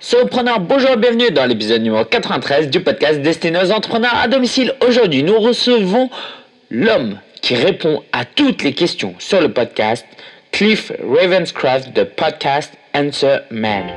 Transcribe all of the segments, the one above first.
Solopreneurs, bonjour et bienvenue dans l'épisode numéro 93 du podcast destiné aux entrepreneurs à domicile. Aujourd'hui, nous recevons l'homme qui répond à toutes les questions sur le podcast, Cliff Ravenscraft de Podcast Answer Man.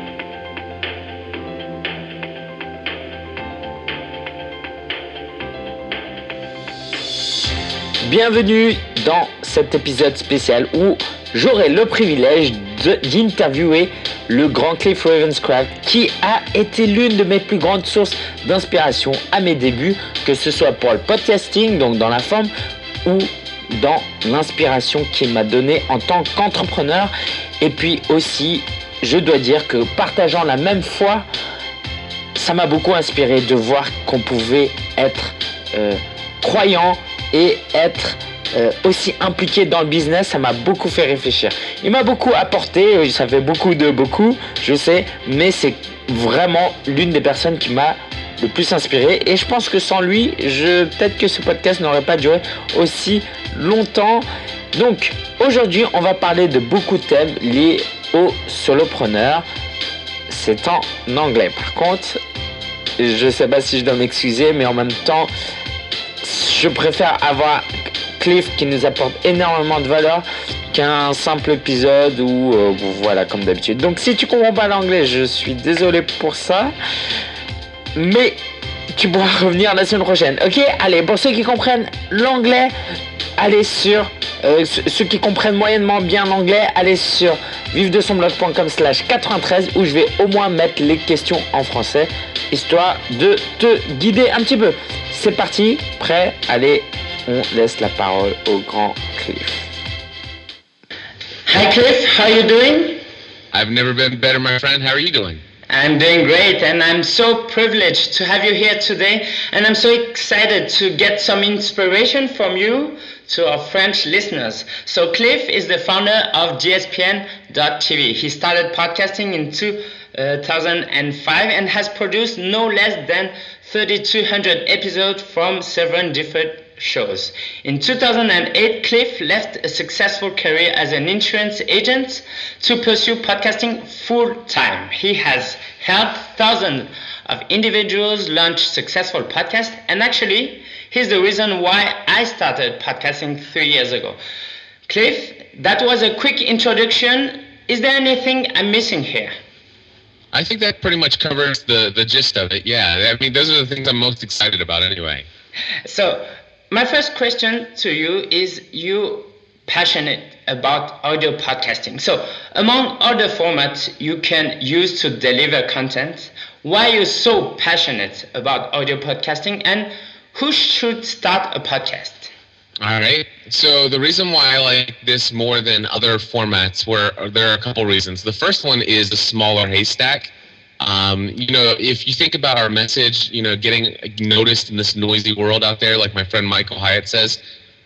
Bienvenue dans cet épisode spécial où j'aurai le privilège d'interviewer le grand Cliff Ravenscraft qui a été l'une de mes plus grandes sources d'inspiration à mes débuts, que ce soit pour le podcasting, donc dans la forme, ou dans l'inspiration qu'il m'a donnée en tant qu'entrepreneur. Et puis aussi, je dois dire que partageant la même foi, ça m'a beaucoup inspiré de voir qu'on pouvait être croyant et être aussi impliqué dans le business. Ça m'a beaucoup fait réfléchir. Il m'a beaucoup apporté, ça fait beaucoup, je sais, mais c'est vraiment l'une des personnes qui m'a le plus inspiré. Et je pense que sans lui, peut-être que ce podcast n'aurait pas duré aussi longtemps. Donc aujourd'hui, on va parler de beaucoup de thèmes liés aux solopreneurs. C'est en anglais. Par contre, je ne sais pas si je dois m'excuser, mais en même temps, je préfère avoir Cliff qui nous apporte énormément de valeur qu'un simple épisode où voilà, comme d'habitude. Donc si tu comprends pas l'anglais, je suis désolé pour ça, mais tu pourras revenir la semaine prochaine. Ok, allez, pour ceux qui comprennent l'anglais, allez sur ceux qui comprennent moyennement bien l'anglais, allez sur vivredesonblog.com/93 où je vais au moins mettre les questions en français, histoire de te guider un petit peu. C'est parti, prêt? Allez, on laisse la parole au grand Cliff. Hi Cliff, how are you doing? I've never been better, my friend. How are you doing? I'm doing great, and I'm so privileged to have you here today, and I'm so excited to get some inspiration from you to our French listeners. So Cliff is the founder of GSPN.TV. He started podcasting in 2005 and has produced no less than 3,200 episodes from seven different shows. In 2008, Cliff left a successful career as an insurance agent to pursue podcasting full-time. He has helped thousands of individuals launch successful podcasts, and actually, he's the reason why I started podcasting 3 years ago. Cliff, that was a quick introduction. Is there anything I'm missing here? I think that pretty much covers the gist of it, yeah. I mean, those are the things I'm most excited about anyway. So, my first question to you is, you passionate about audio podcasting. So, among other formats you can use to deliver content, why are you so passionate about audio podcasting, and who should start a podcast? All right. So the reason why I like this more than other formats, there are a couple reasons. The first one is the smaller haystack. If you think about our message, getting noticed in this noisy world out there, like my friend Michael Hyatt says,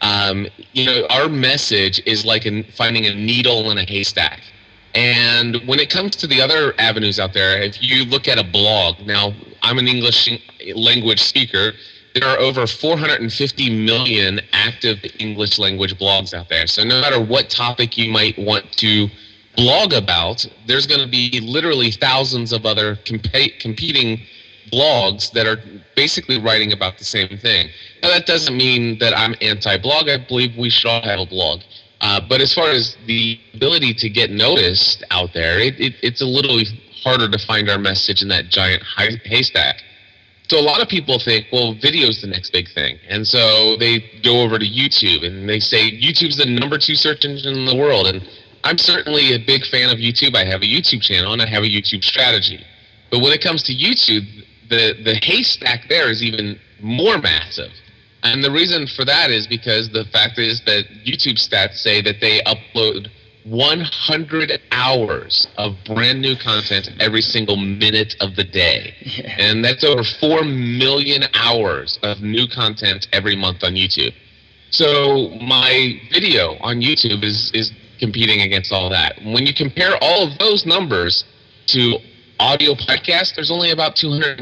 our message is like finding a needle in a haystack. And when it comes to the other avenues out there, if you look at a blog, now I'm an English language speaker. There are over 450 million active English language blogs out there. So no matter what topic you might want to blog about, there's going to be literally thousands of other competing blogs that are basically writing about the same thing. Now, that doesn't mean that I'm anti-blog. I believe we should all have a blog. But as far as the ability to get noticed out there, it's a little harder to find our message in that giant haystack. So a lot of people think, well, video's the next big thing. And so they go over to YouTube and they say YouTube's the number 2 search engine in the world. And I'm certainly a big fan of YouTube. I have a YouTube channel and I have a YouTube strategy. But when it comes to YouTube, the haystack there is even more massive. And the reason for that is because the fact is that YouTube stats say that they upload 100 hours of brand new content every single minute of the day. Yeah. And that's over 4 million hours of new content every month on YouTube. So my video on YouTube is competing against all that. When you compare all of those numbers to audio podcasts, there's only about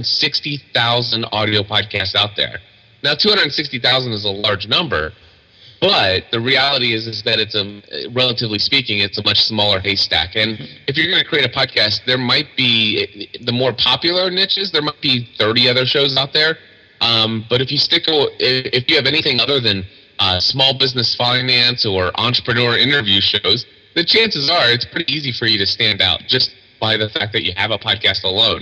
260,000 audio podcasts out there. Now, 260,000 is a large number, But the reality is that it's relatively speaking, it's a much smaller haystack. And if you're going to create a podcast, there might be the more popular niches. There might be 30 other shows out there. But if you have anything other than small business finance or entrepreneur interview shows, the chances are it's pretty easy for you to stand out just by the fact that you have a podcast alone.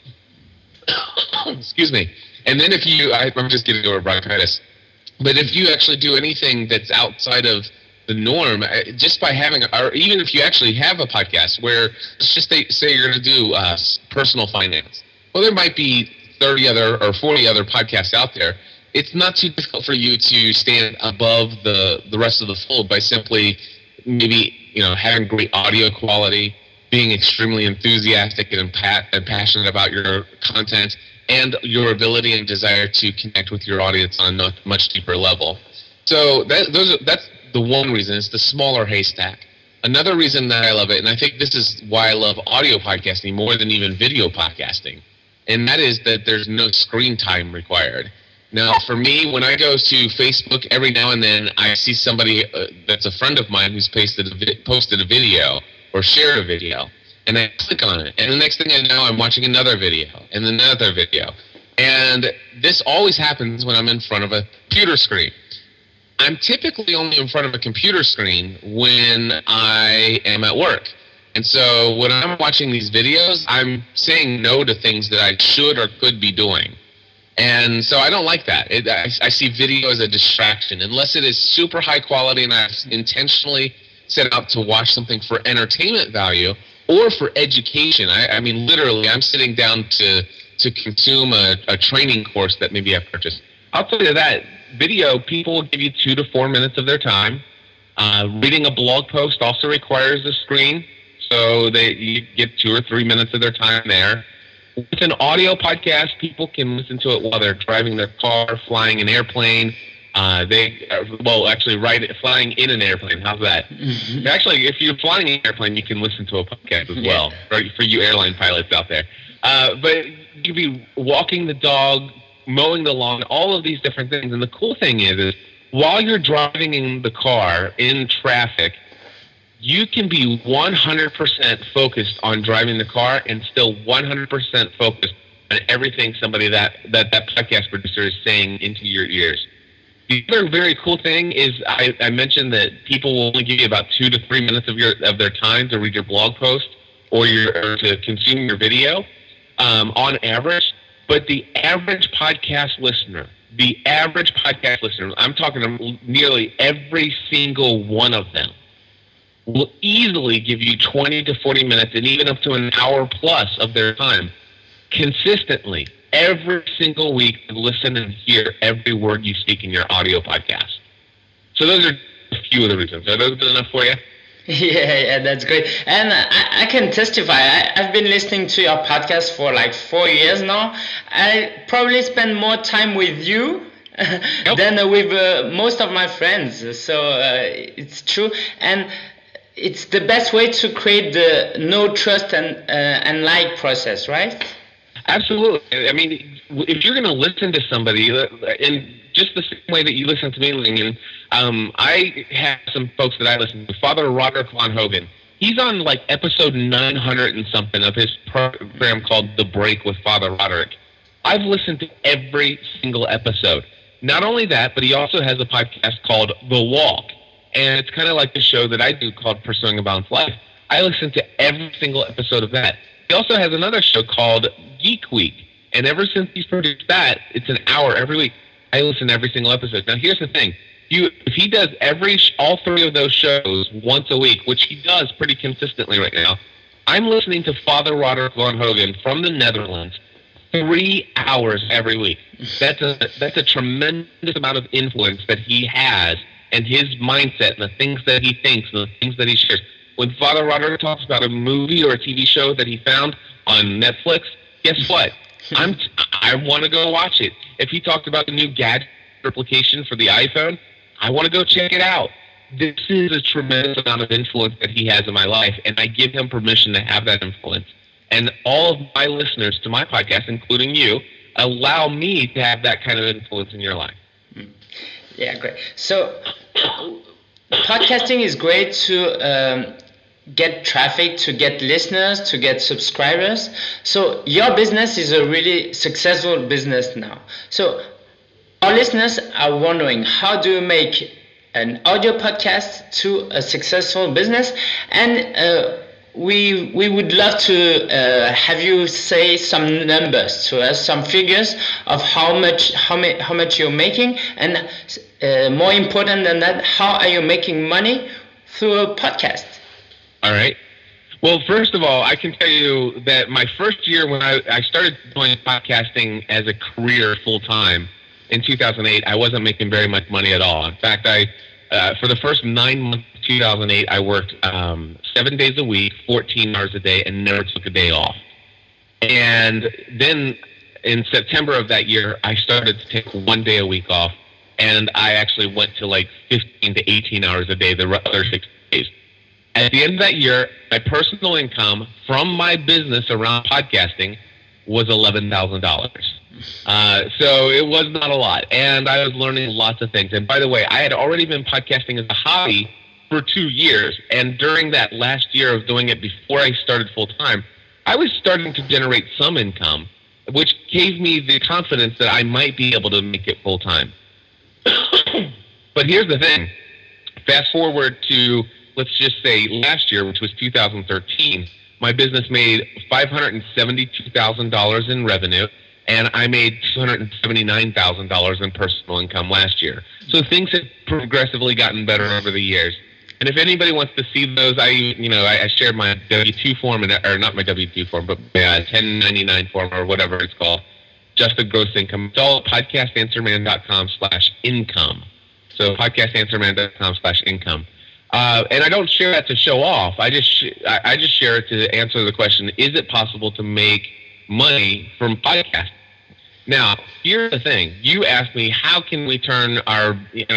Excuse me. And then I'm just getting over bronchitis. But if you actually do anything that's outside of the norm, just by having, or even if you actually have a podcast where, let's just say you're going to do personal finance. Well, there might be 30 other or 40 other podcasts out there. It's not too difficult for you to stand above the rest of the fold by simply maybe, having great audio quality, being extremely enthusiastic and passionate about your content, and your ability and desire to connect with your audience on a much deeper level. So that's the one reason. It's the smaller haystack. Another reason that I love it, and I think this is why I love audio podcasting more than even video podcasting, and that is that there's no screen time required. Now, for me, when I go to Facebook, every now and then I see somebody that's a friend of mine who's posted a video or shared a video. And I click on it, and the next thing I know, I'm watching another video, and another video. And this always happens when I'm in front of a computer screen. I'm typically only in front of a computer screen when I am at work. And so when I'm watching these videos, I'm saying no to things that I should or could be doing. And so I don't like that. I see video as a distraction. Unless it is super high quality and I've intentionally set out to watch something for entertainment value, or for education. I mean, literally, I'm sitting down to consume a training course that maybe I purchased. I'll tell you that video, people will give you 2 to 4 minutes of their time. Reading a blog post also requires a screen, so you get 2 or 3 minutes of their time there. With an audio podcast, people can listen to it while they're driving their car, flying an airplane. Flying in an airplane. How's that? Mm-hmm. Actually, if you're flying in an airplane, you can listen to a podcast as well, right, for you airline pilots out there. But you could be walking the dog, mowing the lawn, all of these different things. And the cool thing is while you're driving in the car in traffic, you can be 100% focused on driving the car and still 100% focused on everything that podcast producer is saying into your ears. The other very cool thing is I mentioned that people will only give you about 2 to 3 minutes of their time to read your blog post or to consume your video on average. But the average podcast listener, I'm talking nearly every single one of them, will easily give you 20 to 40 minutes and even up to an hour plus of their time consistently every single week to listen and hear every word you speak in your audio podcast. So those are a few of the reasons. Are those good enough for you? Yeah, that's great. And I can testify. I've been listening to your podcast for like 4 years now. I probably spend more time with you than with most of my friends. So it's true. And it's the best way to create the know, trust, and like process, right? Absolutely. I mean, if you're going to listen to somebody, in just the same way that you listen to me, Lingen, I have some folks that I listen to. Father Roderick Von Hogan. He's on like episode 900 and something of his program called The Break with Father Roderick. I've listened to every single episode. Not only that, but he also has a podcast called The Walk. And it's kind of like the show that I do called Pursuing a Balanced Life. I listen to every single episode of that. He also has another show called Geek Week. And ever since he's produced that, it's an hour every week. I listen to every single episode. Now, here's the thing. If he does all three of those shows once a week, which he does pretty consistently right now, I'm listening to Father Roderick Von Hogan from the Netherlands 3 hours every week. That's a tremendous amount of influence that he has, and his mindset and the things that he thinks and the things that he shares. When Father Roderick talks about a movie or a TV show that he found on Netflix, guess what? I want to go watch it. If he talked about the new gadget application for the iPhone, I want to go check it out. This is a tremendous amount of influence that he has in my life, and I give him permission to have that influence. And all of my listeners to my podcast, including you, allow me to have that kind of influence in your life. Yeah, great. So podcasting is great to get traffic, to get listeners, to get subscribers. So your business is a really successful business now. So our listeners are wondering, how do you make an audio podcast to a successful business? And we would love to have you say some numbers to us, some figures of how much you're making, and more important than that, how are you making money through a podcast? All right. Well, first of all, I can tell you that my first year when I started doing podcasting as a career full time in 2008, I wasn't making very much money at all. In fact, for the first 9 months of 2008, I worked 7 days a week, 14 hours a day, and never took a day off. And then in September of that year, I started to take 1 day a week off, and I actually went to like 15 to 18 hours a day the other 6 days. At the end of that year, my personal income from my business around podcasting was $11,000. So it was not a lot, and I was learning lots of things. And by the way, I had already been podcasting as a hobby for 2 years, and during that last year of doing it before I started full-time, I was starting to generate some income, which gave me the confidence that I might be able to make it full-time. But here's the thing. Fast forward to, let's just say, last year, which was 2013, my business made $572,000 in revenue, and I made $279,000 in personal income last year. So things have progressively gotten better over the years. And if anybody wants to see those, I shared my W-2 form, or not my W-2 form, but my 1099 form, or whatever it's called, just the gross income. It's all at podcastanswerman.com/income. So podcastanswerman.com/income. And I don't share that to show off. I just share it to answer the question: is it possible to make money from podcasting? Now, here's the thing. You asked me, how can we turn our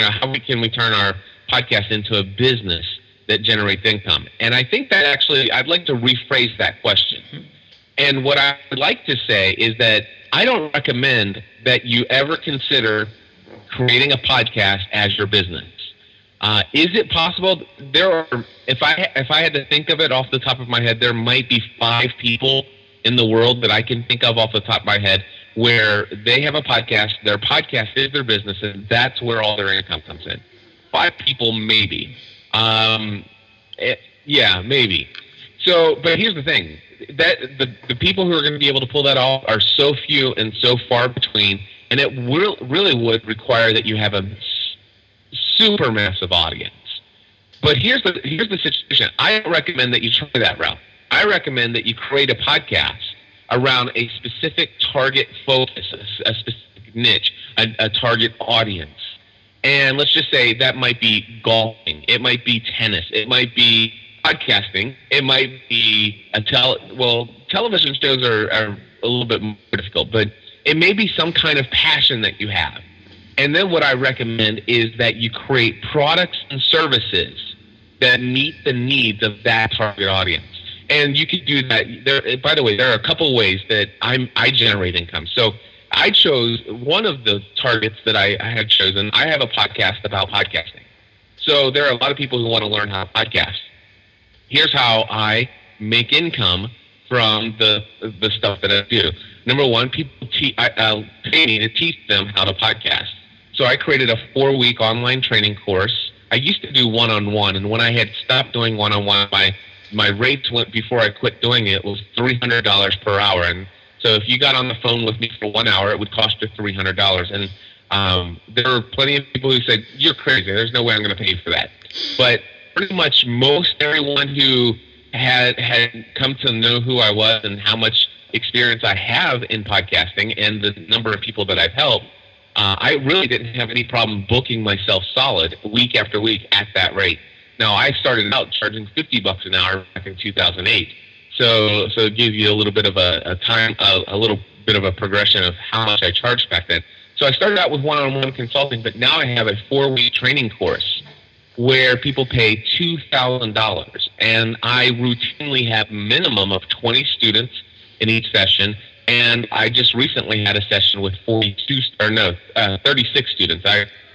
podcast into a business that generates income? And I think that actually, I'd like to rephrase that question. And what I would like to say is that I don't recommend that you ever consider creating a podcast as your business. Is it possible? If I had to think of it off the top of my head, there might be 5 people in the world that I can think of off the top of my head where they have a podcast, their podcast is their business, and that's where all their income comes in. 5 people, maybe. Yeah, maybe. So, but here's the thing. That the people who are going to be able to pull that off are so few and so far between, and it really would require that you have a super massive audience. But here's the situation. I don't recommend that you try that route. I recommend that you create a podcast around a specific target focus, a specific niche, a target audience. And let's just say that might be golfing, it might be tennis, it might be podcasting, it might be television shows are a little bit more difficult, but it may be some kind of passion that you have. And then what I recommend is that you create products and services that meet the needs of that target audience. And you could do that. By the way, there are a couple ways that I generate income. So I chose one of the targets that I had chosen. I have a podcast about podcasting. So there are a lot of people who want to learn how to podcast. Here's how I make income from the stuff that I do. Number one, people pay me to teach them how to podcast. So I created a 4-week online training course. I used to do one-on-one, and when I had stopped doing one-on-one, my rates went, before I quit doing it, was $300 per hour. And so if you got on the phone with me for 1 hour, it would cost you $300. And there were plenty of people who said, "You're crazy. There's no way I'm going to pay for that." But pretty much most everyone who had come to know who I was and how much experience I have in podcasting and the number of people that I've helped, I really didn't have any problem booking myself solid week after week at that rate. Now, I started out charging $50 an hour back in 2008, so it gives you a little bit of a little bit of a progression of how much I charged back then. So I started out with one-on-one consulting, but now I have a 4-week training course where people pay $2,000, and I routinely have a minimum of 20 students in each session. And I just recently had a session with 36 students.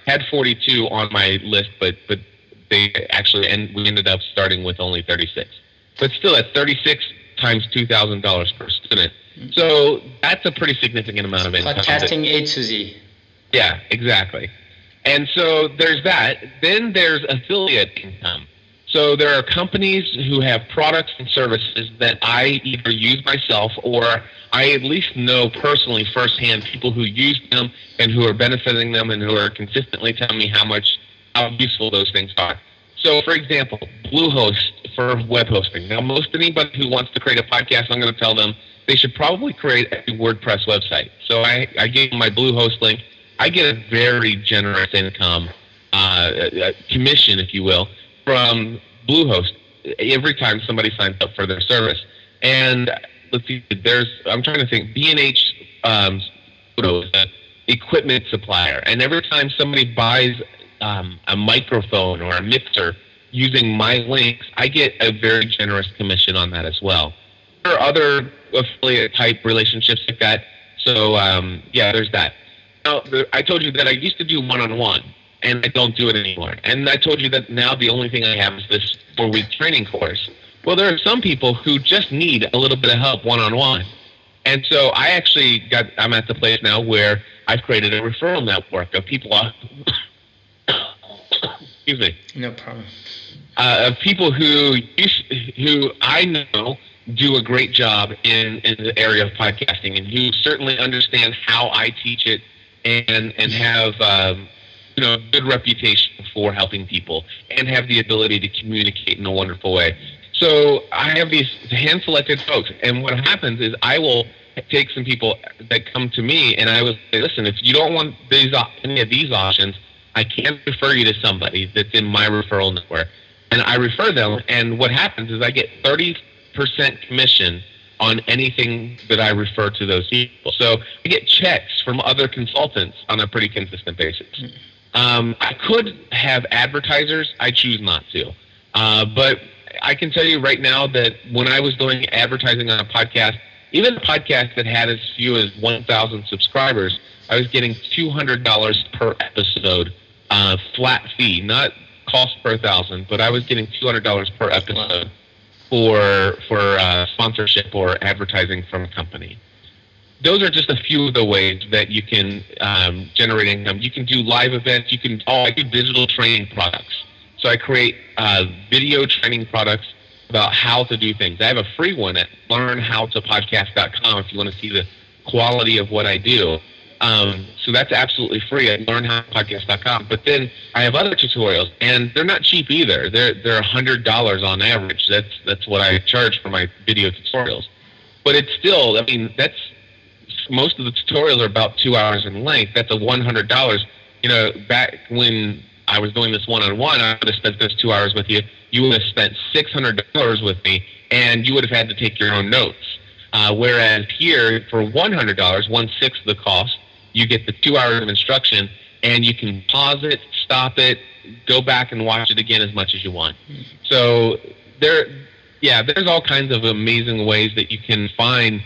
had 42 on my list, but they actually, and we ended up starting with only 36. But still, at 36 times $2,000 per student. So that's a pretty significant amount of income. Podcasting A to Z. Yeah, exactly. And so there's that. Then there's affiliate income. So there are companies who have products and services that I either use myself or I at least know personally firsthand people who use them and who are benefiting them and who are consistently telling me how useful those things are. So, for example, Bluehost for web hosting. Now, most anybody who wants to create a podcast, I'm going to tell them they should probably create a WordPress website. So I gave them my Bluehost link. I get a very generous income, commission, if you will, from Bluehost every time somebody signs up for their service. And let's see, I'm trying to think, B&H Photo is an equipment supplier. And every time somebody buys a microphone or a mixer using my links, I get a very generous commission on that as well. There are other affiliate type relationships like that. So yeah, there's that. Now, I told you that I used to do one-on-one, and I don't do it anymore. And I told you that now the only thing I have is this 4-week training course. Well, there are some people who just need a little bit of help one-on-one. And so I'm at the place now where I've created a referral network of people excuse me. No problem. Of people who I know do a great job in the area of podcasting and who certainly understand how I teach it and have good reputation for helping people and have the ability to communicate in a wonderful way. So I have these hand-selected folks, and what happens is I will take some people that come to me, and I will say, listen, if you don't want any of these options, I can refer you to somebody that's in my referral network. And I refer them, and what happens is I get 30% commission on anything that I refer to those people. So I get checks from other consultants on a pretty consistent basis. I could have advertisers. I choose not to. But I can tell you right now that when I was doing advertising on a podcast, even a podcast that had as few as 1,000 subscribers, I was getting $200 per episode, flat fee, not cost per 1,000, but I was getting $200 per episode for sponsorship or advertising from a company. Those are just a few of the ways that you can generate income. You can do live events. I do digital training products. So I create video training products about how to do things. I have a free one at learnhowtopodcast.com if you want to see the quality of what I do. So that's absolutely free at learnhowtopodcast.com. But then I have other tutorials, and they're not cheap either. They're $100 on average. That's what I charge for my video tutorials. But it's still, most of the tutorials are about 2 hours in length. That's a $100. Back when I was doing this one-on-one, I would have spent those 2 hours with you. You would have spent $600 with me, and you would have had to take your own notes. Whereas here, for $100, 1/6 the cost, you get the 2 hours of instruction, and you can pause it, stop it, go back and watch it again as much as you want. So there's all kinds of amazing ways that you can find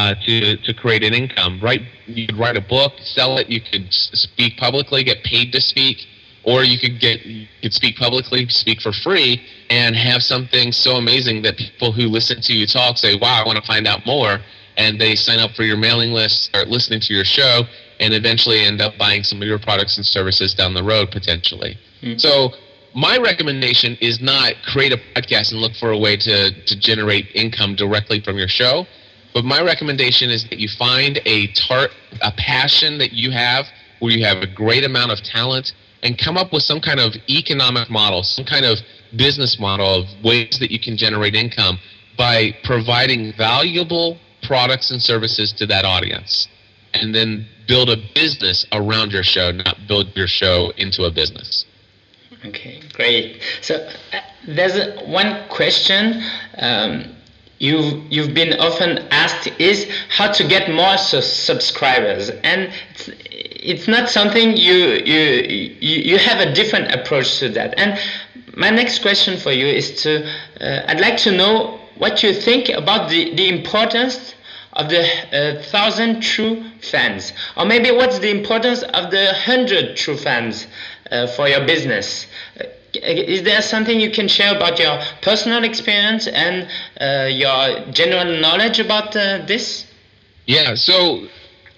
to create an income. You could write a book, sell it. You could speak publicly, get paid to speak. Or you could speak publicly, speak for free, and have something so amazing that people who listen to you talk say, wow, I want to find out more. And they sign up for your mailing list, start listening to your show, and eventually end up buying some of your products and services down the road, potentially. Mm-hmm. So my recommendation is not create a podcast and look for a way to generate income directly from your show. But my recommendation is that you find a passion that you have where you have a great amount of talent, and come up with some kind of economic model, some kind of business model of ways that you can generate income by providing valuable products and services to that audience. And then build a business around your show, not build your show into a business. Okay, great. So there's one question you've been often asked is how to get more subscribers, and it's not something you have a different approach to that. And my next question for you is I'd like to know what you think about the importance of the 1,000 true fans, or maybe what's the importance of the 100 true fans. for your business. Is there something you can share about your personal experience and your general knowledge about this? Yeah, so,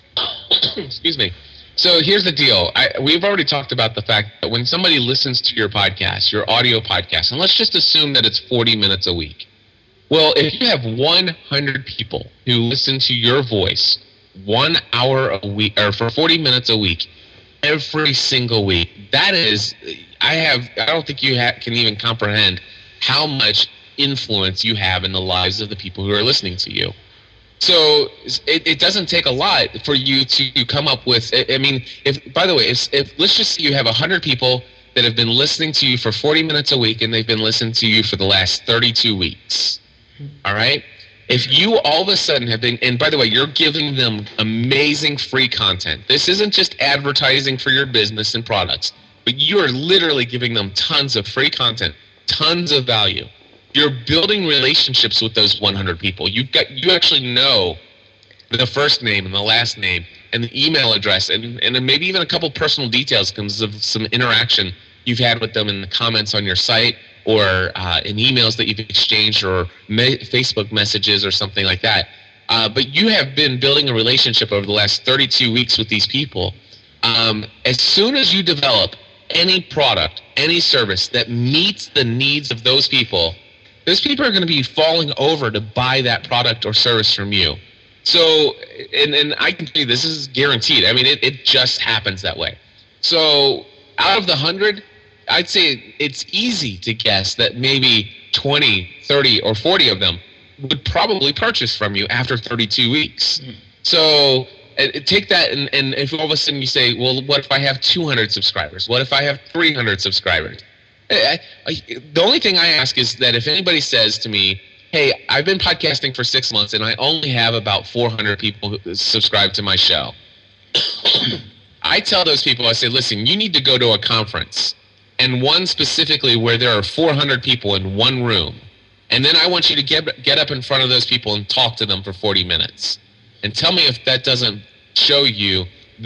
excuse me. So here's the deal. We've already talked about the fact that when somebody listens to your podcast, your audio podcast, and let's just assume that it's 40 minutes a week. Well, if you have 100 people who listen to your voice 1 hour a week, or for 40 minutes a week, every single week, that is, I don't think you can even comprehend how much influence you have in the lives of the people who are listening to you. So it doesn't take a lot for you to come up with. I mean, if let's just say you have 100 people that have been listening to you for 40 minutes a week, and they've been listening to you for the last 32 weeks. All right. If you all of a sudden have been, and by the way, you're giving them amazing free content. This isn't just advertising for your business and products, but you are literally giving them tons of free content, tons of value. You're building relationships with those 100 people. You actually know the first name and the last name and the email address and then maybe even a couple personal details because of some interaction you've had with them in the comments on your site or in emails that you've exchanged or Facebook messages or something like that. But you have been building a relationship over the last 32 weeks with these people. As soon as you develop any product, any service that meets the needs of those people are going to be falling over to buy that product or service from you. So, and I can tell you this is guaranteed. I mean, it just happens that way. So out of the 100, I'd say it's easy to guess that maybe 20, 30, or 40 of them would probably purchase from you after 32 weeks. So take that, and if all of a sudden you say, well, what if I have 200 subscribers? What if I have 300 subscribers? The only thing I ask is that if anybody says to me, hey, I've been podcasting for 6 months and I only have about 400 people who subscribe to my show. I tell those people, I say, listen, you need to go to a conference, and one specifically where there are 400 people in one room. And then I want you to get up in front of those people and talk to them for 40 minutes. And tell me if that doesn't show you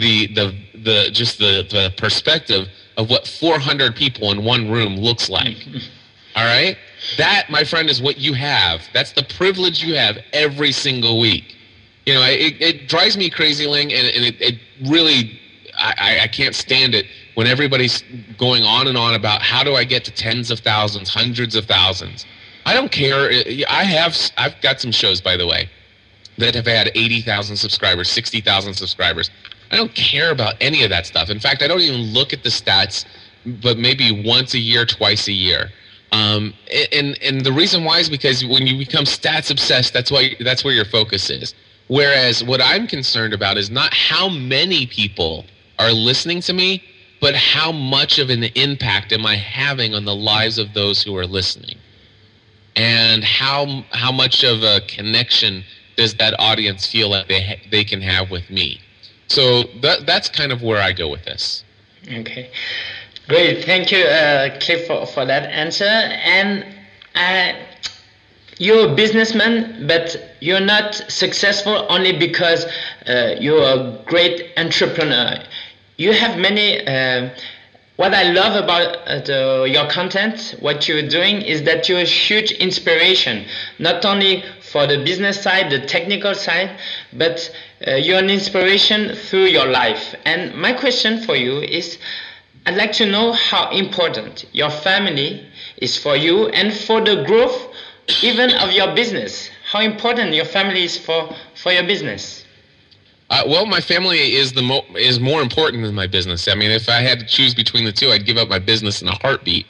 the perspective of what 400 people in one room looks like. All right? That, my friend, is what you have. That's the privilege you have every single week. You know, it drives me crazy, Ling, and it really, I can't stand it when everybody's going on and on about how do I get to tens of thousands, hundreds of thousands. I don't care. I've got some shows, by the way, that have had 80,000 subscribers, 60,000 subscribers. I don't care about any of that stuff. In fact, I don't even look at the stats, but maybe once a year, twice a year. And the reason why is because when you become stats obsessed, that's where your focus is. Whereas what I'm concerned about is not how many people are listening to me, but how much of an impact am I having on the lives of those who are listening, and how much of a connection does that audience feel like they can have with me. So that's kind of where I go with this. Okay, great. Thank you, Cliff, for that answer. And you're a businessman, but you're not successful only because you're a great entrepreneur. You have many. What I love about your content, what you're doing, is that you're a huge inspiration, not only for the business side, the technical side, but you're an inspiration through your life. And my question for you is, I'd like to know how important your family is for you and for the growth even of your business. How important your family is for your business. Well, my family is more important than my business. I mean, if I had to choose between the two, I'd give up my business in a heartbeat.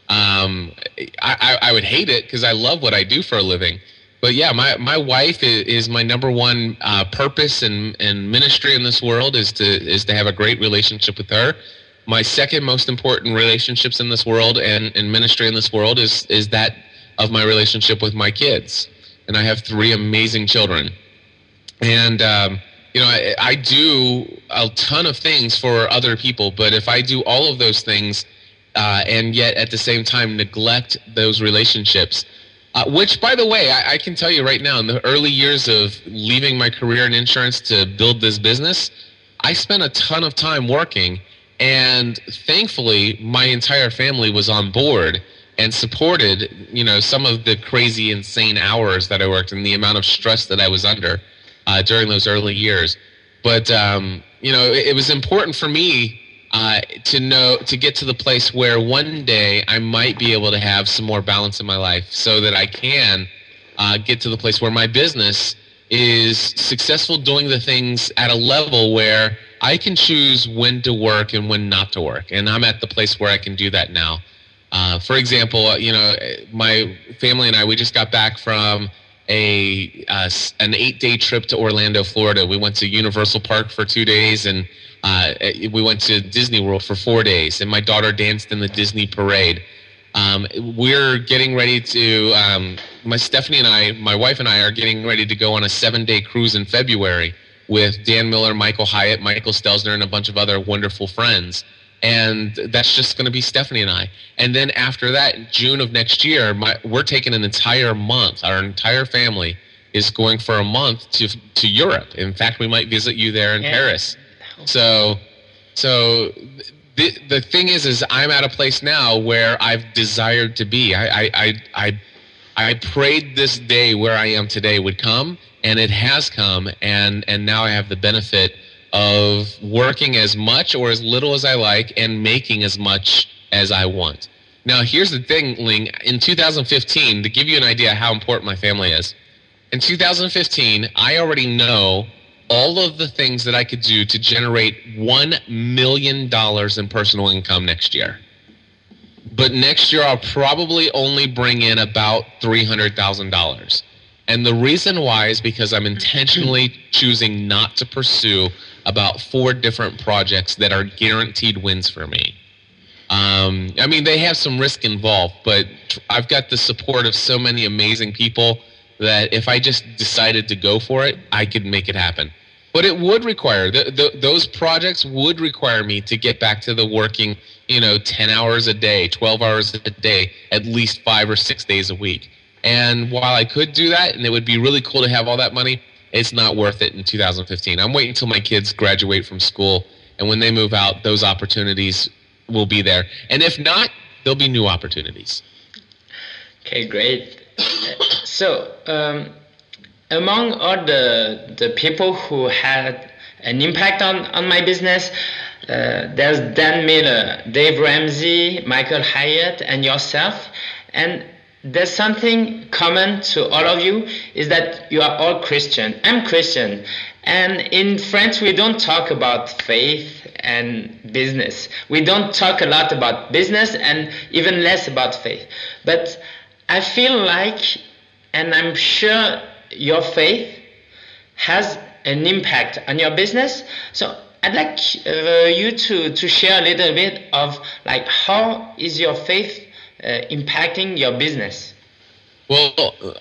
I would hate it because I love what I do for a living. But yeah, my wife is my number one purpose and ministry in this world is to have a great relationship with her. My second most important relationships in this world and ministry in this world is that of my relationship with my kids. And I have 3 amazing children. And I do a ton of things for other people, but if I do all of those things and yet at the same time neglect those relationships, which, by the way, I can tell you right now, in the early years of leaving my career in insurance to build this business, I spent a ton of time working, And thankfully, my entire family was on board and supported, some of the crazy, insane hours that I worked and the amount of stress that I was under during those early years. But, it was important for me to get to the place where one day I might be able to have some more balance in my life so that I can get to the place where my business is successful doing the things at a level where I can choose when to work and when not to work. And I'm at the place where I can do that now. For example, my family and I, we just got back from an 8-day trip to Orlando, Florida. We went to Universal Park for 2 days, and we went to Disney World for 4 days, and my daughter danced in the Disney parade. We're getting ready to, my wife and I are getting ready to go on a 7-day cruise in February with Dan Miller, Michael Hyatt, Michael Stelzner, and a bunch of other wonderful friends. And that's just going to be Stephanie and I. And then after that, in June of next year, we're taking an entire month. Our entire family is going for a month to Europe. In fact, we might visit you there in Paris. So the thing is I'm at a place now where I've desired to be. I prayed this day where I am today would come, and it has come, and now I have the benefit of working as much or as little as I like and making as much as I want. Now, here's the thing, Ling. In 2015, to give you an idea how important my family is, in 2015, I already know all of the things that I could do to generate $1 million in personal income next year. But next year, I'll probably only bring in about $300,000. And the reason why is because I'm intentionally choosing not to pursue about 4 different projects that are guaranteed wins for me. They have some risk involved, but I've got the support of so many amazing people that if I just decided to go for it, I could make it happen. But it would require, those projects would require me to get back to the working, 10 hours a day, 12 hours a day, at least 5 or 6 days a week. And while I could do that, and it would be really cool to have all that money, it's not worth it in 2015. I'm waiting until my kids graduate from school, and when they move out, those opportunities will be there. And if not, there'll be new opportunities. Okay, great. So, among all the people who had an impact on my business, there's Dan Miller, Dave Ramsey, Michael Hyatt, and yourself. And there's something common to all of you, is that you are all Christian. I'm Christian. And in France, we don't talk about faith and business. We don't talk a lot about business and even less about faith. But I feel like, and I'm sure your faith has an impact on your business. So I'd like you to share a little bit of like how is your faith impacting your business? Well,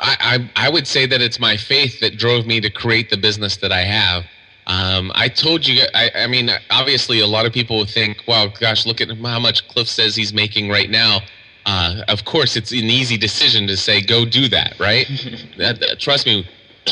I would say that it's my faith that drove me to create the business that I have. I told you, obviously a lot of people would think, wow, gosh, look at how much Cliff says he's making right now. Of course, it's an easy decision to say, go do that, right? Trust me,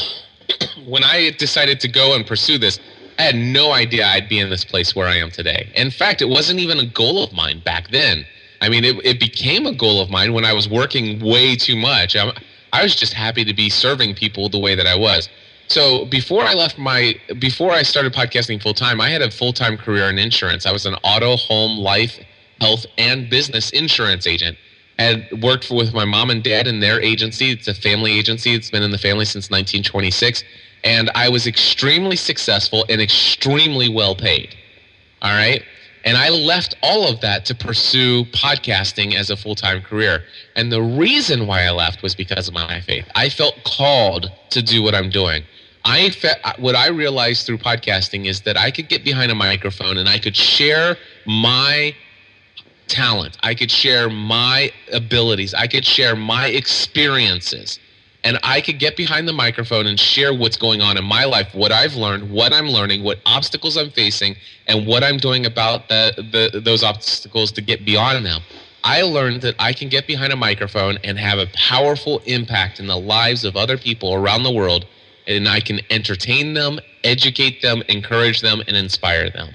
when I decided to go and pursue this, I had no idea I'd be in this place where I am today. In fact, it wasn't even a goal of mine back then. It became a goal of mine when I was working way too much. I was just happy to be serving people the way that I was. So before I started podcasting full time, I had a full-time career in insurance. I was an auto, home, life, health, and business insurance agent. I had worked with my mom and dad in their agency. It's a family agency. It's been in the family since 1926. And I was extremely successful and extremely well paid. All right? And I left all of that to pursue podcasting as a full-time career. And the reason why I left was because of my faith. I felt called to do what I'm doing. What I realized through podcasting is that I could get behind a microphone and I could share my talent. I could share my abilities. I could share my experiences. And I could get behind the microphone and share what's going on in my life, what I've learned, what I'm learning, what obstacles I'm facing, and what I'm doing about those obstacles to get beyond them. I learned that I can get behind a microphone and have a powerful impact in the lives of other people around the world, and I can entertain them, educate them, encourage them, and inspire them.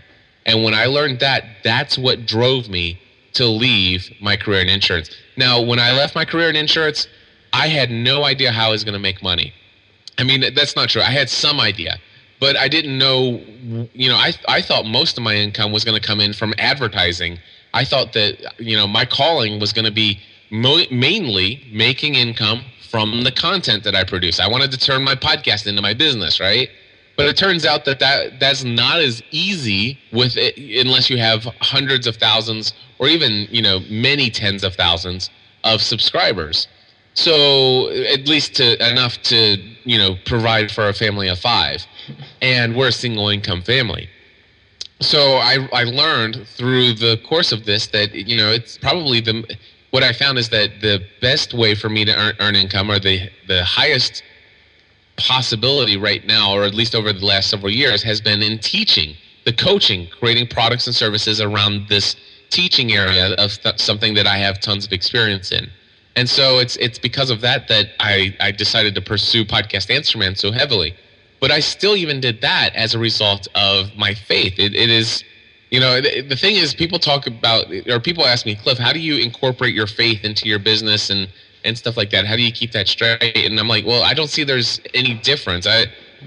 And when I learned that, that's what drove me to leave my career in insurance. Now, when I left my career in insurance, I had no idea how I was going to make money. I mean, that's not true. I had some idea, but I didn't know, I thought most of my income was going to come in from advertising. I thought that, my calling was going to be mainly making income from the content that I produce. I wanted to turn my podcast into my business, right? But it turns out that's not as easy with it unless you have hundreds of thousands or even, many tens of thousands of subscribers. So at least enough to, provide for a family of 5. And we're a single income family. So I learned through the course of this that, it's probably what I found is that the best way for me to earn income, or the highest possibility right now, or at least over the last several years, has been in teaching, the coaching, creating products and services around this teaching area of something that I have tons of experience in. And so it's because of that I decided to pursue Podcast Answer Man so heavily. But I still even did that as a result of my faith. It is, the thing is, people talk about, or people ask me, Cliff, how do you incorporate your faith into your business and stuff like that? How do you keep that straight? And I'm like, well, I don't see there's any difference. I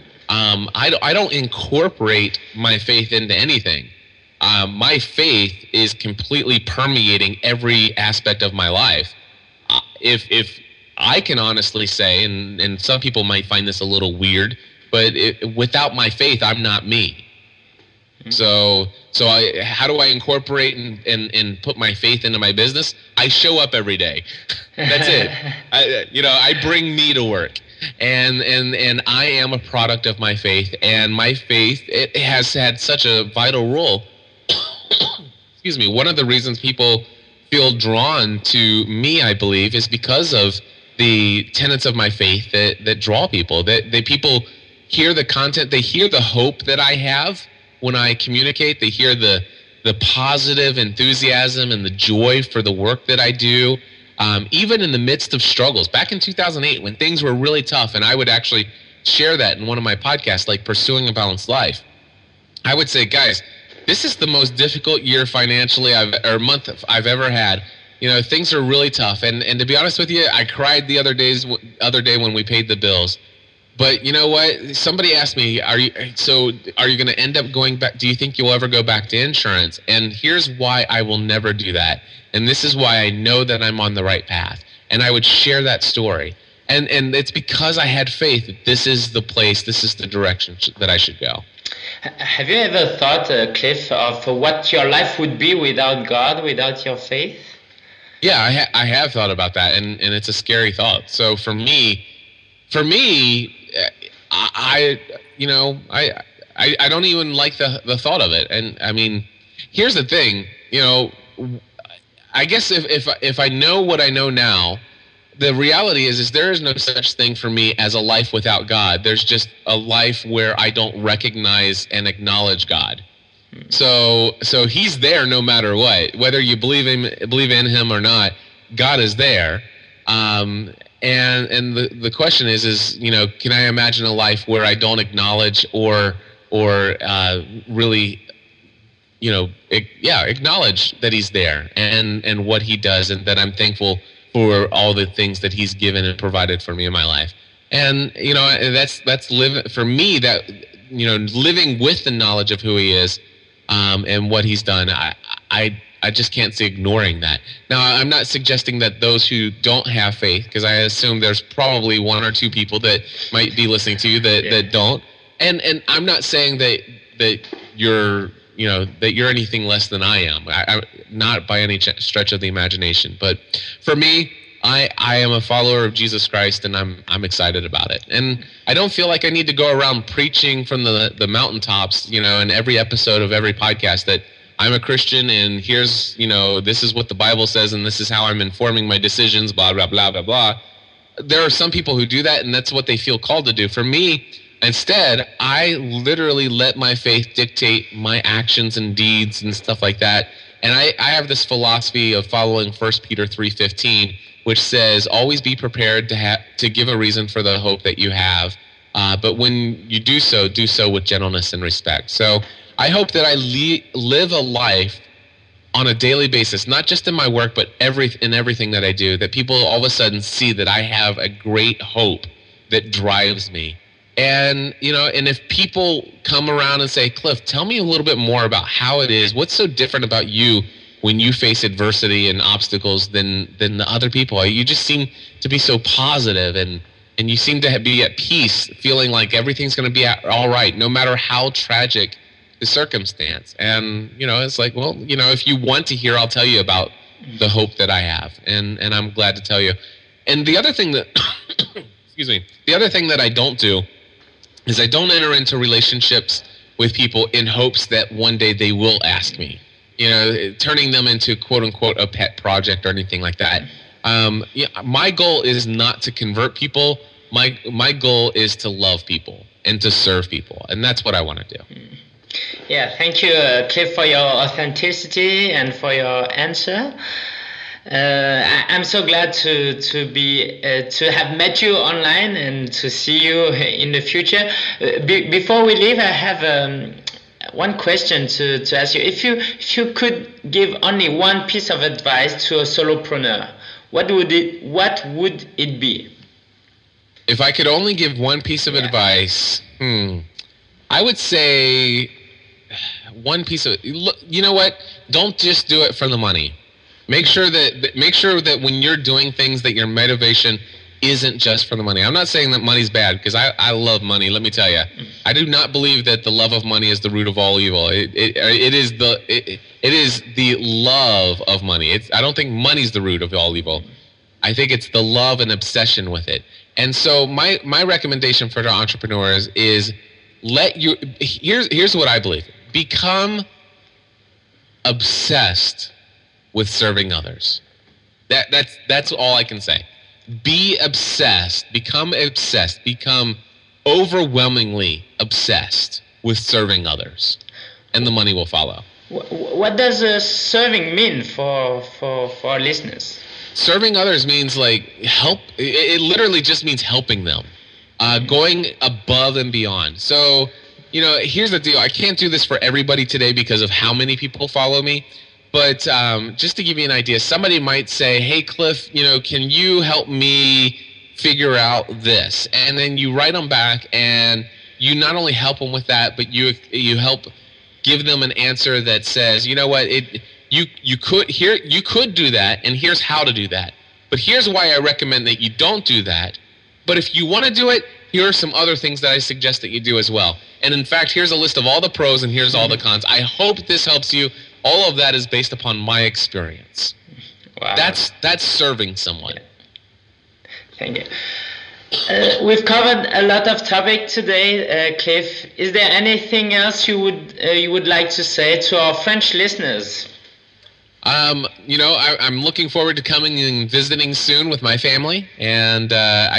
don't incorporate my faith into anything. My faith is completely permeating every aspect of my life. If I can honestly say, and some people might find this a little weird, but without my faith, I'm not me. So how do I incorporate and put my faith into my business? I show up every day. That's it. I bring me to work, and I am a product of my faith. And my faith, it has had such a vital role. Excuse me. One of the reasons people feel drawn to me, I believe, is because of the tenets of my faith that draw people. That people hear the content, they hear the hope that I have when I communicate. They hear the positive enthusiasm and the joy for the work that I do, even in the midst of struggles. Back in 2008, when things were really tough, and I would actually share that in one of my podcasts, like Pursuing a Balanced Life. I would say, guys, this is the most difficult year financially month I've ever had. Things are really tough, and to be honest with you, I cried the other day when we paid the bills. But you know what? Somebody asked me, are you going to end up going back? Do you think you'll ever go back to insurance? And here's why I will never do that. And this is why I know that I'm on the right path. And I would share that story. And it's because I had faith that this is the place, this is the direction that I should go. Have you ever thought, Cliff, of what your life would be without God, without your faith? Yeah, I have thought about that, and it's a scary thought. So for me, I don't even like the thought of it. And I mean, here's the thing, I guess if I know what I know now, the reality is there is no such thing for me as a life without God. There's just a life where I don't recognize and acknowledge God. So he's there no matter what, whether you believe in him or not. God is there. And the question is can I imagine a life where I don't acknowledge or really acknowledge that he's there and what he does, and that I'm thankful for all the things that he's given and provided for me in my life. And that's living for me, that living with the knowledge of who he is and what he's done. I just can't see ignoring that. Now, I'm not suggesting that those who don't have faith, because I assume there's probably one or two people that might be listening to you that don't. And I'm not saying that you're anything less than I am. I not by any stretch of the imagination. But for me, I am a follower of Jesus Christ, and I'm excited about it. And I don't feel like I need to go around preaching from the mountaintops, in every episode of every podcast that I'm a Christian, and here's, this is what the Bible says, and this is how I'm informing my decisions, blah, blah, blah, blah, blah. There are some people who do that, and that's what they feel called to do. For me, instead, I literally let my faith dictate my actions and deeds and stuff like that. And I have this philosophy of following 1 Peter 3:15, which says, always be prepared to give a reason for the hope that you have. But when you do so with gentleness and respect. So I hope that I live a life on a daily basis, not just in my work, but in everything that I do, that people all of a sudden see that I have a great hope that drives me. And, and if people come around and say, Cliff, tell me a little bit more about how it is, what's so different about you when you face adversity and obstacles than the other people? You just seem to be so positive, and you seem to be at peace, feeling like everything's going to be all right, no matter how tragic the circumstance. And it's like, well, if you want to hear, I'll tell you about the hope that I have, and I'm glad to tell you. And the other thing that excuse me, the other thing that I don't do is I don't enter into relationships with people in hopes that one day they will ask me, turning them into quote unquote a pet project or anything like that. My goal is not to convert people. My goal is to love people and to serve people, and that's what I want to do. Yeah, thank you, Cliff, for your authenticity and for your answer. I'm so glad to have met you online and to see you in the future. Before we leave, I have one question to ask you. If you could give only one piece of advice to a solopreneur, what would it be? If I could only give one piece of advice, I would say one piece of. Look, you know what? Don't just do it for the money. Make sure that when you're doing things, that your motivation isn't just for the money. I'm not saying that money's bad, because I love money. Let me tell you, I do not believe that the love of money is the root of all evil. It is the love of money. I don't think money's the root of all evil. I think it's the love and obsession with it. And so my recommendation for the entrepreneurs is here's what I believe. Become obsessed with serving others. That's all I can say. Be obsessed. Become obsessed. Become overwhelmingly obsessed with serving others, and the money will follow. What does serving mean for our listeners? Serving others means help. It literally just means helping them, going above and beyond. So, here's the deal. I can't do this for everybody today because of how many people follow me. But just to give you an idea, somebody might say, hey, Cliff, can you help me figure out this? And then you write them back, and you not only help them with that, but you help give them an answer that says, you know what, you could do that, and here's how to do that. But here's why I recommend that you don't do that. But if you want to do it, here are some other things that I suggest that you do as well. And in fact, here's a list of all the pros, and here's all the cons. I hope this helps you. All of that is based upon my experience. Wow. That's serving someone. Thank you. We've covered a lot of topic today, Cliff. Is there anything else you would like to say to our French listeners? I'm looking forward to coming and visiting soon with my family, and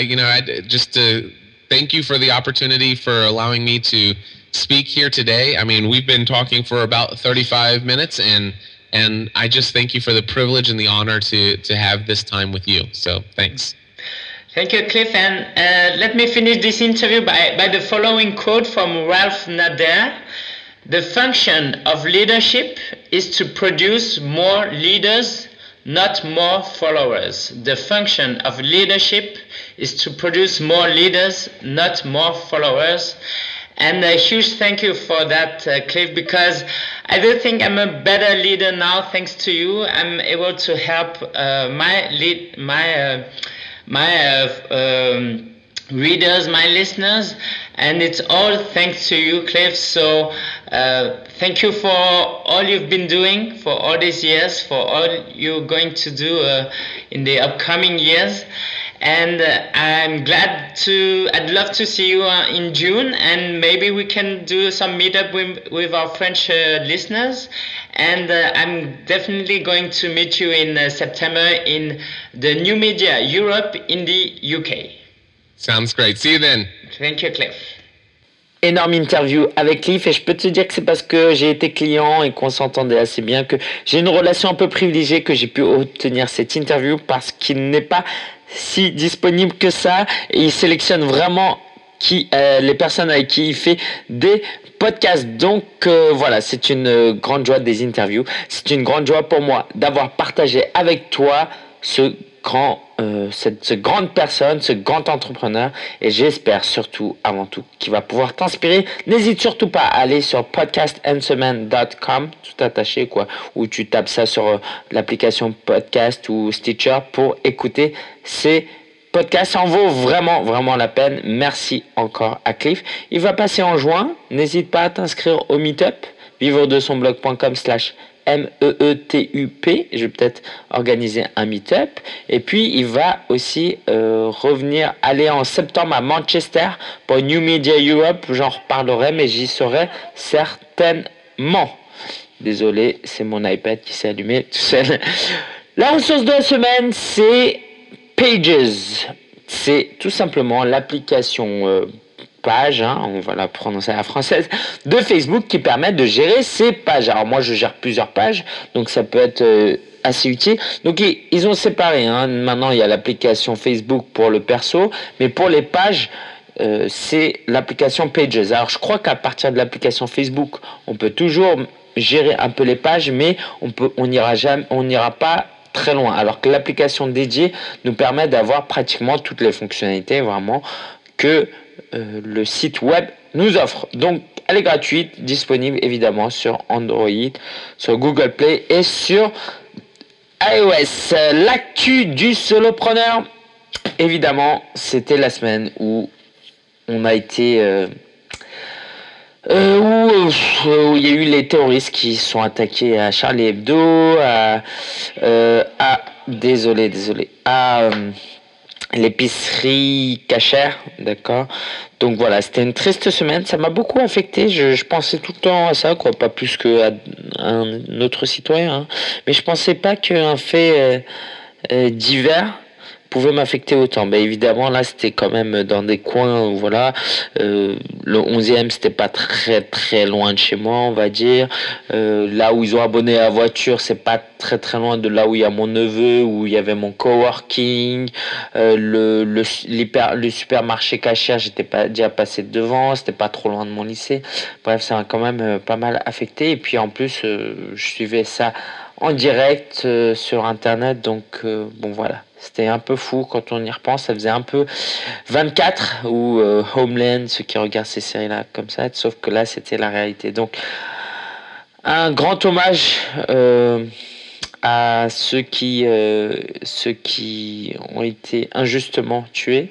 I just to thank you for the opportunity for allowing me to speak here today. I mean, we've been talking for about 35 minutes, and I just thank you for the privilege and the honor to have this time with you. So thanks. Thank you, Cliff. And let me finish this interview by the following quote from Ralph Nader. The function of leadership is to produce more leaders, not more followers. The function of leadership is to produce more leaders, not more followers. And a huge thank you for that, Cliff, because I do think I'm a better leader now thanks to you. I'm able to help my readers, my listeners, and it's all thanks to you, Cliff. So thank you for all you've been doing for all these years, for all you're going to do in the upcoming years. And I'd love to see you in June, and maybe we can do some meetup with our French listeners. And I'm definitely going to meet you in September in the New Media Europe in the UK. Sounds great. See you then. Thank you, Cliff. Énorme interview avec Cliff, et je peux te dire que c'est parce que j'ai été client et qu'on s'entendait assez bien, que j'ai une relation un peu privilégiée, que j'ai pu obtenir cette interview, parce qu'il n'est pas si disponible que ça, et il sélectionne vraiment les personnes avec qui il fait des podcasts. Donc voilà, c'est une grande joie des interviews. C'est une grande joie pour moi d'avoir partagé avec toi cette grande personne, ce grand entrepreneur, et j'espère surtout, avant tout, qu'il va pouvoir t'inspirer. N'hésite surtout pas à aller sur podcastandsemaine.com, tout attaché quoi, où tu tapes ça sur l'application podcast ou Stitcher pour écouter ces podcasts. Ça en vaut vraiment, vraiment la peine. Merci encore à Cliff. Il va passer en juin. N'hésite pas à t'inscrire au meetup, vivre-de-son-blog.com/MEETUP. Je vais peut-être organiser un meet-up. Et puis, il va aussi aller en septembre à Manchester pour New Media Europe. J'en reparlerai, mais j'y serai certainement. Désolé, c'est mon iPad qui s'est allumé tout seul. La ressource de la semaine, c'est Pages. C'est tout simplement l'application page, on va la prononcer à la française, de Facebook qui permet de gérer ses pages. Alors moi je gère plusieurs pages, donc ça peut être assez utile. Donc ils ont séparé, maintenant il y a l'application Facebook pour le perso, mais pour les pages c'est l'application Pages. Alors je crois qu'à partir de l'application Facebook on peut toujours gérer un peu les pages, mais on n'ira pas très loin, alors que l'application dédiée nous permet d'avoir pratiquement toutes les fonctionnalités vraiment que le site web nous offre. Donc elle est gratuite, disponible évidemment sur Android, sur Google Play et sur iOS. L'actu du solopreneur, évidemment, c'était la semaine où on a été où il y a eu les terroristes qui sont attaqués à Charlie Hebdo, désolé, à l'épicerie cachère, d'accord. Donc voilà, c'était une triste semaine, ça m'a beaucoup affecté. Je pensais tout le temps à ça, quoi, pas plus qu'à un autre citoyen, mais je pensais pas qu'un fait divers pouvait m'affecter autant. Ben évidemment là c'était quand même dans des coins où voilà, le 11e c'était pas très très loin de chez moi, on va dire. Là où ils ont abonné la voiture, c'est pas très très loin de là où il y a mon neveu, où il y avait mon coworking. Le supermarché cachère, j'étais pas déjà passé devant, c'était pas trop loin de mon lycée. Bref, ça m'a quand même pas mal affecté. Et puis en plus je suivais ça en direct sur internet, donc bon voilà, c'était un peu fou quand on y repense. Ça faisait un peu 24 ou Homeland, ceux qui regardent ces séries là comme ça, sauf que là c'était la réalité. Donc un grand hommage à ceux qui ont été injustement tués.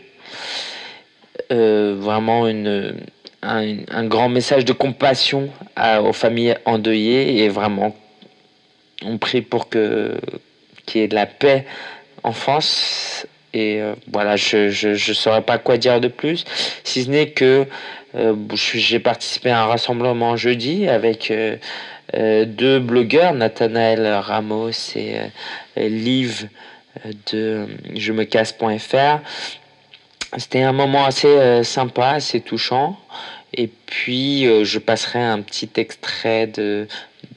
Vraiment un grand message de compassion aux familles endeuillées, et vraiment on prie pour qu'il y ait de la paix en France. Et voilà, je saurais pas quoi dire de plus, si ce n'est que j'ai participé à un rassemblement jeudi avec deux blogueurs, Nathanaël Ramos et Liv de jemecasse.fr. C'était un moment assez sympa, assez touchant. Et puis je passerai un petit extrait de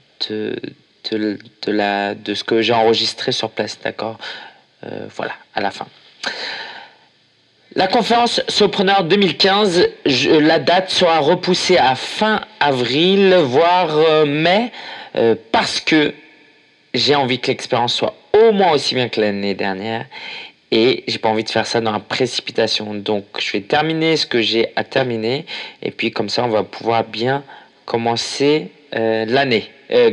ce que j'ai enregistré sur place, d'accord. Voilà, à la fin. La conférence Solopreneur 2015, la date sera repoussée à fin avril, voire mai, parce que j'ai envie que l'expérience soit au moins aussi bien que l'année dernière, et j'ai pas envie de faire ça dans la précipitation. Donc je vais terminer ce que j'ai à terminer, et puis comme ça on va pouvoir bien commencer l'année.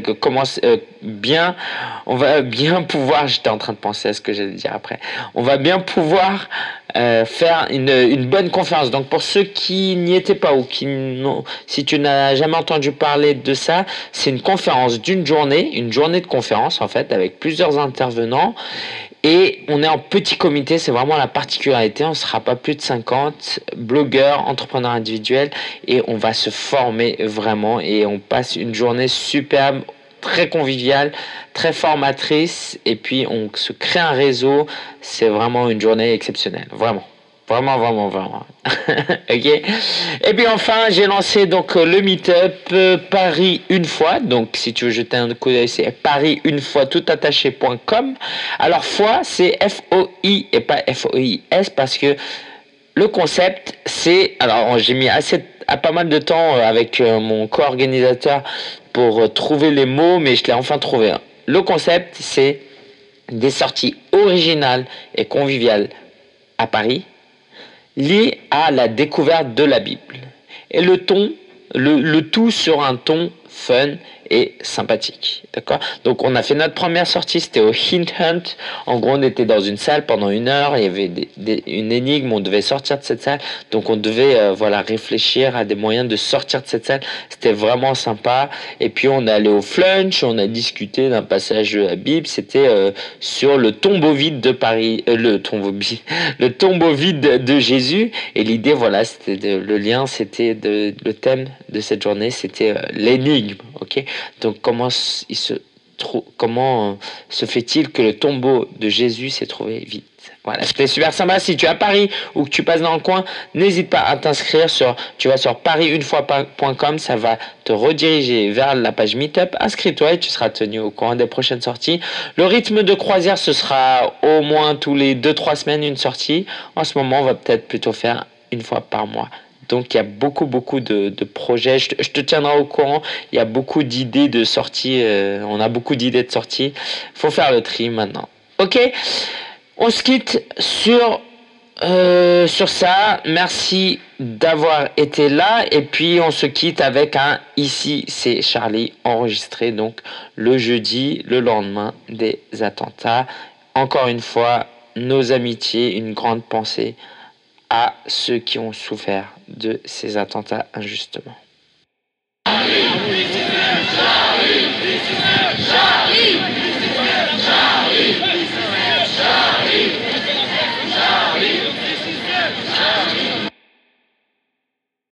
On va bien pouvoir, j'étais en train de penser à ce que j'allais dire après, on va bien pouvoir faire une bonne conférence. Donc pour ceux qui n'y étaient pas, ou si tu n'as jamais entendu parler de ça, c'est une conférence d'une journée, une journée de conférence en fait, avec plusieurs intervenants. Et on est en petit comité, c'est vraiment la particularité. On ne sera pas plus de 50 blogueurs, entrepreneurs individuels, et on va se former vraiment. Et on passe une journée superbe, très conviviale, très formatrice. Et puis on se crée un réseau. C'est vraiment une journée exceptionnelle, vraiment. Vraiment. Ok. Et puis enfin, j'ai lancé donc le meet-up Paris une fois. Donc si tu veux jeter un coup d'œil, c'est paris-une-fois toutattaché.com. Alors fois, c'est F-O-I et pas F-O-I-S, parce que le concept, c'est... Alors, j'ai mis pas mal de temps avec mon co-organisateur pour trouver les mots, mais je l'ai enfin trouvé. Le concept, c'est des sorties originales et conviviales à Paris, liées à la découverte de la Bible. Et le tout sur un ton fun et sympathique. D'accord? Donc on a fait notre première sortie, c'était au Hint Hunt. En gros, on était dans une salle pendant 1 heure, il y avait une énigme, on devait sortir de cette salle. Donc on devait réfléchir à des moyens de sortir de cette salle. C'était vraiment sympa. Et puis on est allé au Flunch, on a discuté d'un passage de la Bible, c'était sur le tombeau vide de Paris, le tombeau vide de Jésus. Et l'idée, voilà, c'était le thème de cette journée, c'était l'énigme. Ok? Donc comment se fait-il que le tombeau de Jésus s'est trouvé vide? Voilà, c'était super sympa. Si tu es à Paris ou que tu passes dans le coin, n'hésite pas à t'inscrire tu vas sur parisunefoi.com, ça va te rediriger vers la page Meetup. Inscris-toi et tu seras tenu au courant des prochaines sorties. Le rythme de croisière, ce sera au moins tous les 2-3 semaines une sortie. En ce moment, on va peut-être plutôt faire 1 fois par mois. Donc il y a beaucoup de projets, je te tiendrai au courant, il y a beaucoup d'idées de sorties, on a beaucoup d'idées de sorties, faut faire le tri maintenant. Ok, on se quitte sur ça, merci d'avoir été là et puis on se quitte avec un Ici c'est Charlie enregistré donc le jeudi, le lendemain des attentats. Encore une fois, nos amitiés, une grande pensée à ceux qui ont souffert de ces attentats injustement.